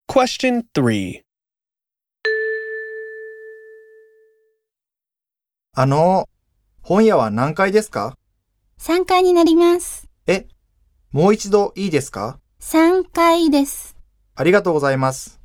Question 3. 本屋は何階ですか 3階になります。 もう一度いいですか 3階です。 ありがとうございます。